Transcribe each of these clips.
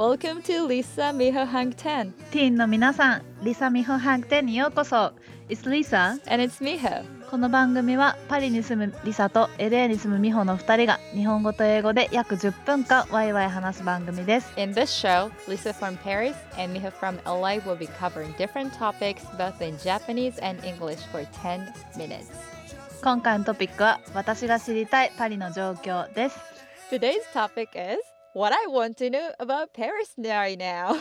Welcome to Lisa Miho Hang Ten. ティーンの皆さん、リサミホハンクテンにようこそ。It's Lisa. And it's Miho. この番組はパリに住むリサと LA に住むミホの2人が日本語と英語で約10分間ワイワイ話す番組です。 In this show, Lisa from Paris and Miho from LA will be covering different topics both in Japanese and English for 10 minutes. 今回のトピックは私が知りたいパリの状況です。 Today's topic is what I want to know about Paris right now.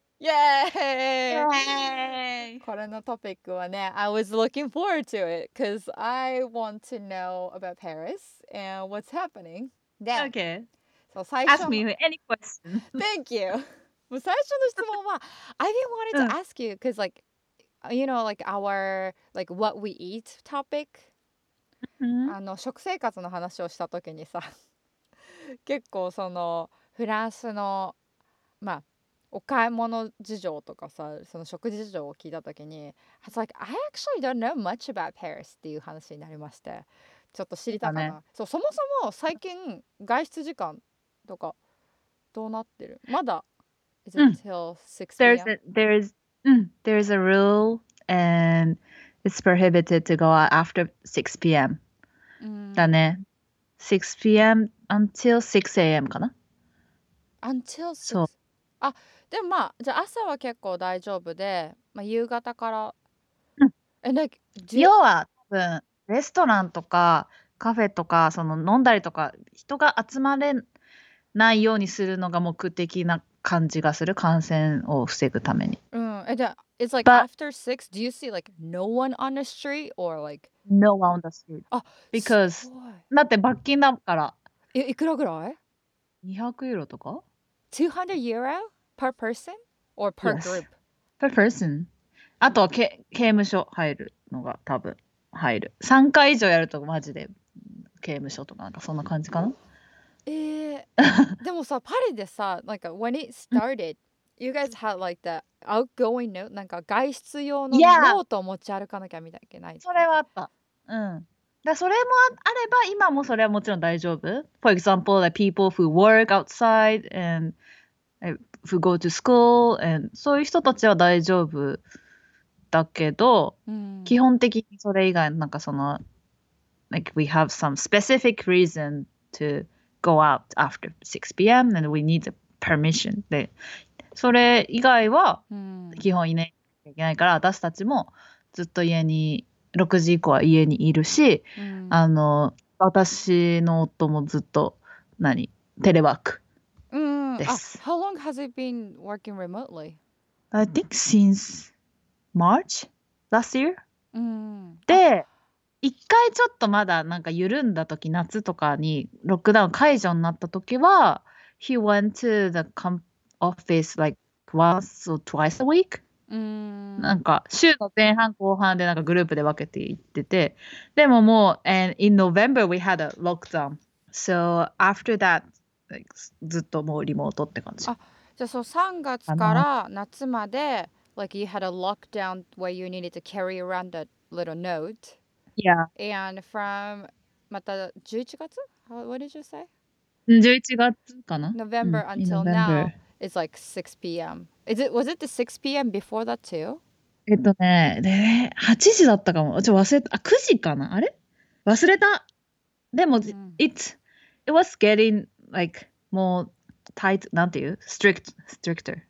Yay! これのトピックはね、I was looking forward to it because I want to know about Paris and what's happening. Okay. そう最初 Ask me any question. Thank you. もう最初の質問は I didn't wanted to ask you because like you know like our like what we eat topic、食生活の話をした時にさ結構そのフランスのまあお買い物事情とかさその食事事情を聞いた時に It's like I actually don't know much about Paris っていう話になりましてちょっと知りたかな、 ね、 そうそもそも最近外出時間とかどうなってるまだ Is it till 6 p.m.? There's a rule and it's prohibited to go out after 6 p.m. だね。6 p.m. until 6 a.m. かな Until 6? そう。 あ、でもまあじゃあ朝は結構大丈夫で、まあ、夕方から、 要は多分レストランとかカフェとかその飲んだりとか人が集まれないようにするのが目的な感じがする感染を防ぐために。 It's like after 6, do you see like no one on the street or like no one on the street? Because だって罰金だから。 いくらぐらい ？200ユーロとか ？200 euro per person or per group? Per person. あとは刑務所入るのが多分入る。3回以上やるとマジで刑務所とかなんかそんな感じかな。 でもさパリでさlike when it started you guys had like the outgoing note なんか外出用のノートを持ち歩かなきゃいけない。 それはあった。だそれもあれば今もそれはもちろん大丈夫。For example, like people who work outside and who go to school and そういう人たちは大丈夫だけど、基本的にそれ以外なんかその like we have some specific reason to go out after 6 p.m. and we need the permission でそれ以外は基本いないといけないから私たちもずっと家に6時以降は家にいるし、私の夫もずっとテレワークです。 How long has it been working remotely? I think since March last year? で一回ちょっとまだなんか緩んだ時夏とかにロックダウン解除になった時は He went to the office like once or twice a week? なんか週の前半後半でなんかグループで分けていっててでももう and in November we had a lockdown so after that like, ずっともうリモートって感じ。 じゃあそう3月から夏までlike you had a lockdown where you needed to carry around a little note Yeah. And from また11月? What did you say? 11月かな November until now it's like 6 p.m. Was it the 6 p.m. before that too? で8時だったかも。忘れた。9時かなあれ忘れた。でも、it was getting like more tight なんていう stricter。最初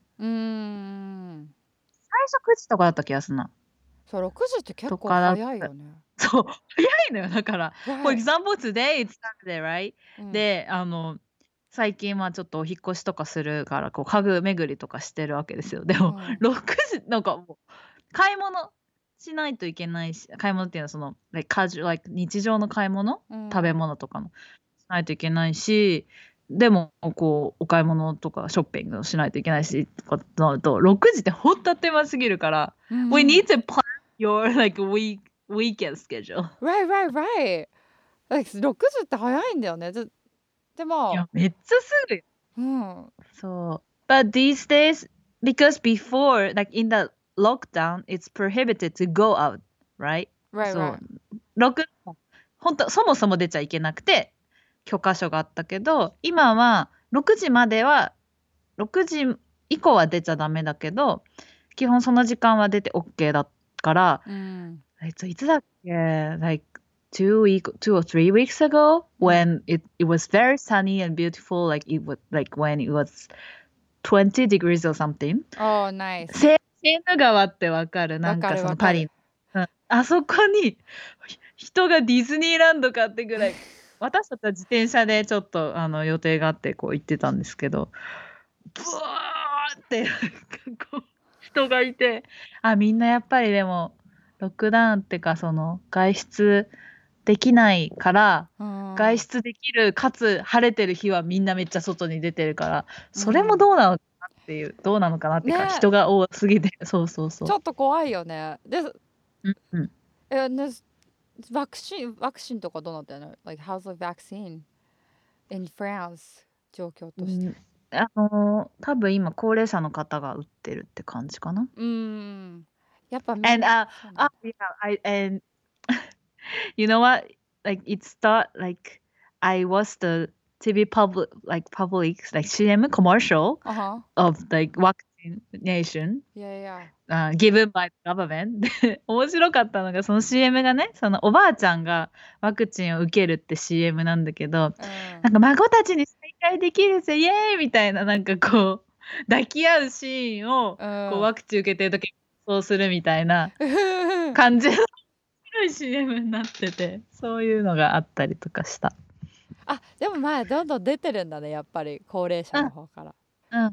9時とかだった気がするな。 そう、6時って結構早いよね。 そう、早いのよ。だから、For example, today it's Saturday, right? で、最近はちょっとお引っ越しとかするからこう家具巡りとかしてるわけですよ。でも、6時なんかもう買い物しないといけないし買い物っていうのはその、like、日常の買い物、食べ物とかのしないといけないしでもこうお買い物とかショッピングをしないといけないしとかなると6時ってほんとあっという間すぎるから、We need to plan your like weekend schedule. Right. Like 6時って早いんだよね。でもいやめっちゃすぐよ。そう。But these days, because before, like in the lockdown, it's prohibited to go out, right? Right. 本当そもそも出ちゃいけなくて許可書があったけど、今は6時までは 6時以降は出ちゃダメだけど、基本その時間は出て OK だから、いつだっけ like 2 or 3 weeks ago when it was very sunny and beautiful, like it was like when it was 20 degrees or something. Oh, nice. セーヌ川ってわかる？なんかわかるそのパリ、あそこに人がディズニーランドかってぐらい、私たちは自転車でちょっと予定があってこう行ってたんですけど、ブワーってなんかこう人がいて、みんなやっぱりでもロックダウンってかその外出できないから、外出できるかつ晴れてる日はみんなめっちゃ外に出てるから、それもどうなのかなっていう、どうなのかなっていうか、人が多すぎて、そうそうそう。 ちょっと怖いよね。で、ワクチンとかどうなってんの？ Like how's the vaccine in France 状況として。 多分今高齢者の方が打ってるって感じかな。 やっぱみんな。 And you know what? Like it start like I was the TV public like CM commercial of like vaccination given by the government. で面白かったのがその CM がね、そのおばあちゃんがワクチンを受けるって CM なんだけど、なんか孫たちに再会できるぜイエーイみたいななんかこう抱き合うシーンをこうワクチン受けてる時にそうするみたいな感じのCM になってて、そういうのがあったりとかした。 でもまあどんどん出てるんだね、やっぱり高齢者の方から。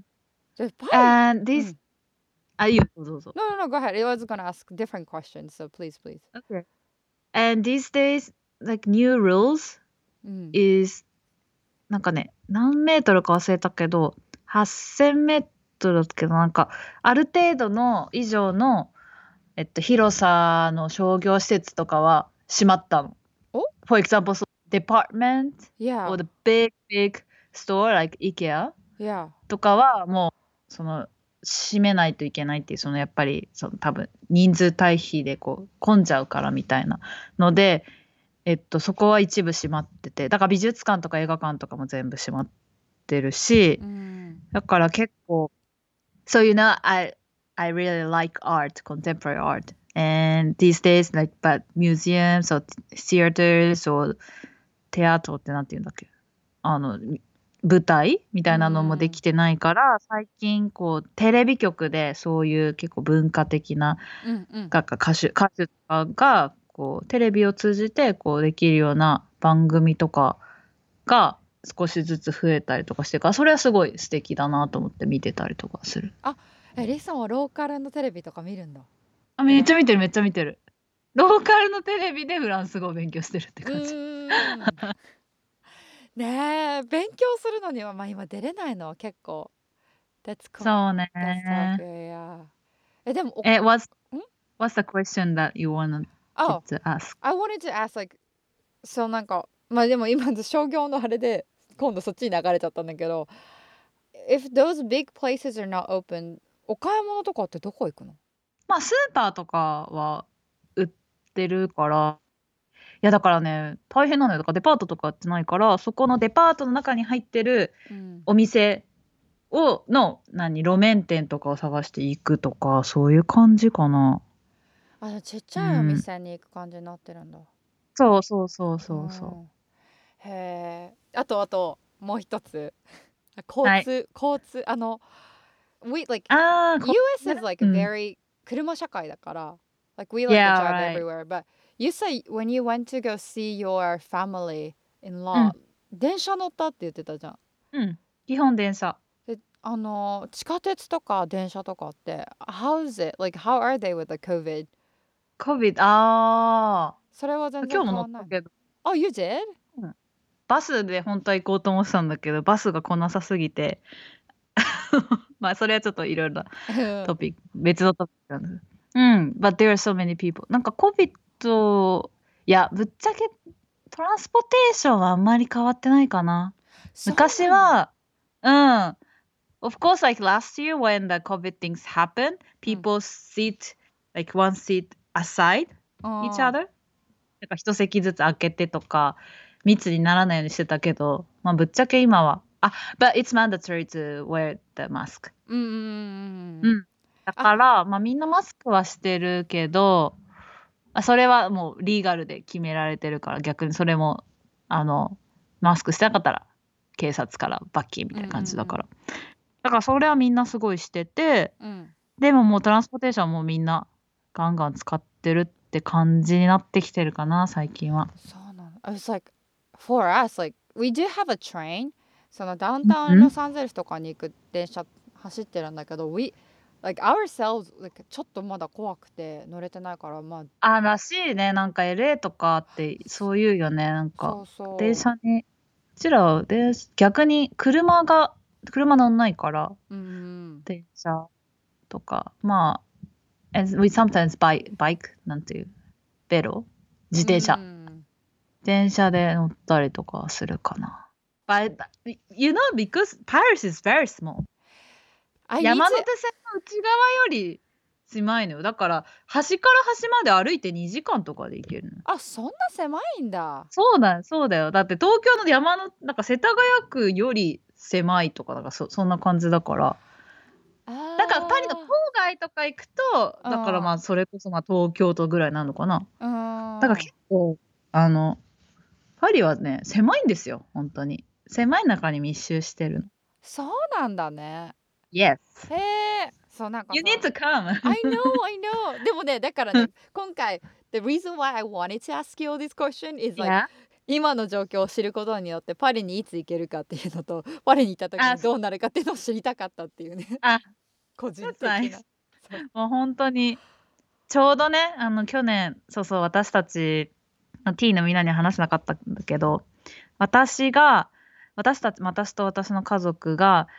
And this, you go. No, go ahead. I was gonna ask different questions, so please. Okay. And these days, like new rules is なんかね、何メートルか忘れたけど、8000メートルだけど、なんかある程度の以上の広さの商業施設とかは閉まったの。For example, so department or the big store like IKEA とかはもうその閉めないといけないっていう、そのやっぱりその多分人数対比でこう混んじゃうからみたいなので、そこは一部閉まってて、だから美術館とか映画館とかも全部閉まってるし、だから結構So you know, I really like art, contemporary art. And these days, like, but museums or theaters or テアトってなんて言うんだっけ？舞台みたいなのもできてないから、最近こうテレビ局でそういう結構文化的な歌手とかがこうテレビを通じてこうできるような番組とかが少しずつ増えたりとかしてから、それはすごい素敵だなと思って見てたりとかする。 リさんはローカルのテレビとか見るんだ？ めっちゃ見てる。ローカルのテレビでフランス語を勉強してるって感じ。 ねえ、勉強するのにはまあ今出れないのは結構。 そうね。 でも、 What's the question that you wanted to ask? I wanted to ask like、そうなんかまあでも今商業のあれで今度そっちに流れちゃったんだけど、If those big places are not open、お買い物とかってどこ行くの？ まあスーパーとかは売ってるから、いやだからね大変なのよ。だからデパートとかってないから、そこのデパートの中に入ってるお店の路面店とかを探していくとか、そういう感じかな。 ちっちゃいお店に行く感じになってるんだ。 そう。 へえ。あともう一つ交通we like US is like very 車社会だから like we like to drive everywhere, but you say when you went to go see your family in law、電車乗ったって言ってたじゃん。 基本電車。 地下鉄とか電車とかって how is it? Like how are they with the COVID? それは全然変わんない。 今日も乗ったけど。 You did? バスで本当は行こうと思ってたんだけど、バスが来なさすぎてまあそれはちょっといろいろトピック別のトピックなんです。But there are so many people. なんか COVID いやぶっちゃけトランスポテーションはあんまり変わってないかな。昔はOf course, like last year when the COVID things happened, people sit like one seat aside each other. なんか一席ずつ空けてとか密にならないようにしてたけど、まあぶっちゃけ今は But it's mandatory to wear the mask. うんうんうんうん。だから、まあみんなマスクはしてるけど、それはもうリーガルで決められてるから、逆にそれも、マスクしてなかったら、警察から罰金みたいな感じだから。だからそれはみんなすごいしてて、 うん。 でももうトランスポーテーションもみんなガンガン使ってるって感じになってきてるかな、最近は。 そうなの。I was like, for us, like, we do have a train. そのダウンタウンうんロサンゼルスとかに行く電車走ってるんだけど、like ourselves, like, ちょっとまだ怖くて乗れてないから、まあ、 らしいね。なんか LA とかってそう言うよね。なんかそうそう。 電車に、うちらは逆に車乗んないから、 うんうん。 電車とか、まあ、we sometimes bike なんていうベロ自転車、電車で乗ったりとかするかな。But you know, because Paris is very small. 山手線の内側より狭いのよ。だから端から端まで歩いて2時間とかで行けるの。 あ、そんな狭いんだ。 そうだよ。だって東京の山のなんか世田谷区より狭いとか、なんかそんな感じだから。だからパリの郊外とか行くと、だからまあそれこそまあ東京都ぐらいなのかな。だから結構パリはね狭いんですよ、本当に。狭い中に密集してるの。 そうなんだね。 Yes. へえ。そうなんか You need to come. I know. でもね、だからね、今回 the reason why I wanted to ask you this question is like、今の状況を知ることによってパリにいつ行けるかっていうのと、パリに行った時にどうなるかっていうのを知りたかったっていうね。個人的な。 もう本当にちょうどね、去年そう私たちT のみんなに話せなかったんだけど、私と私の家族が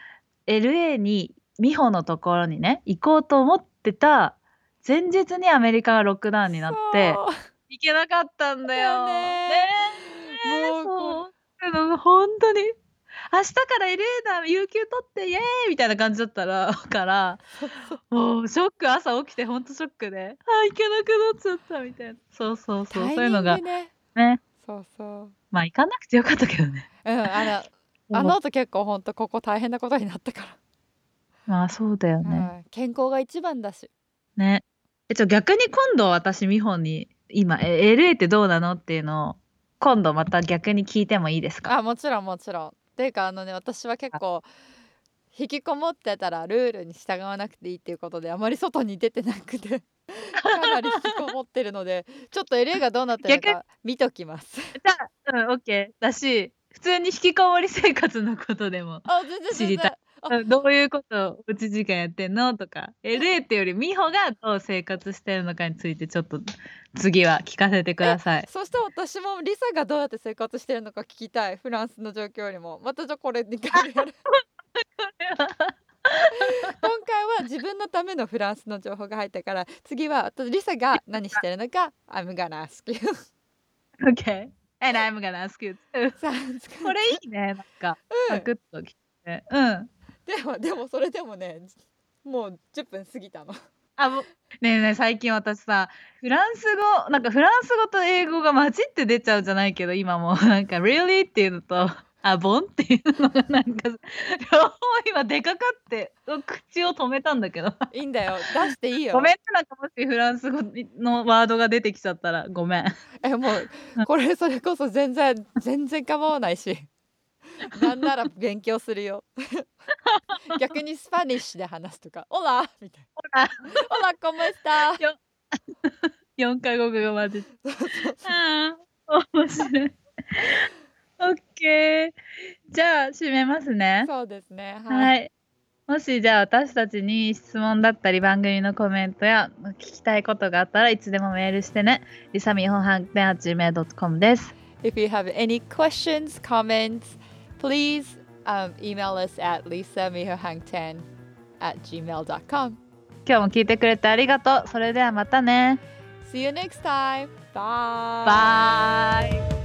LA に美穂のところにね行こうと思ってた前日にアメリカがロックダウンになって行けなかったんだよね。もう本当に明日から LA だ有給取ってイエーイみたいな感じだったからもうショック、朝起きてほんとショックで行けなくなっちゃったみたいな。そうそういうのがね。 そうまあ行かなくてよかったけどね。 あの後結構ほんとここ大変なことになったから。 まあそうだよね。 健康が一番だし。 ね。逆に今度私美穂に今LA ってどうなのっていうのを今度また逆に聞いてもいいですか？ もちろん。っていうか私は結構引きこもってたらルールに従わなくていいっていうことであまり外に出てなくてかなり引きこもってるのでちょっと LA がどうなってるか見ときます。 じゃあOK だし、普通に引きこもり生活のことでも知りたい。どういうことをおうち時間やってんのとか、LA ってより美穂がどう生活してるのかについてちょっと次は聞かせてください。 そして私もリサがどうやって生活してるのか聞きたい。フランスの状況よりも。またじゃこれ2回やる。今回は自分のためのフランスの情報が入ったから、次はリサが何してるのか I'm gonna ask you. Okay. And I'm gonna ask you too. これいいね。なんかサクッときて。 でもそれでもね、もう10分過ぎたの。 ねえ最近私さ、フランス語と英語が混じって出ちゃうじゃないけど、今もなんか really っていうのとボンっていうのがなんか両方今でかかって口を止めたんだけど。 いいんだよ、出していいよ。 ごめんね、なんかもしフランス語のワードが出てきちゃったらごめん。 もうこれそれこそ全然構わないし。なんなら勉強するよ。逆にスパニッシュで話すとか、オラみたいな。オラコモエスタ。 4カ国語混じって。面白い。オッケー。じゃあ締めますね。 そうですね。 はい。もしじゃあ私たちに質問だったり番組のコメントや聞きたいことがあったらいつでもメールしてね。りさみほはんてん@gmail.com です。 If you have any questions, comments, please email us at lisamihahangten@gmail.com。 今日も聞いてくれてありがとう。それではまたね。 See you next time. Bye. Bye.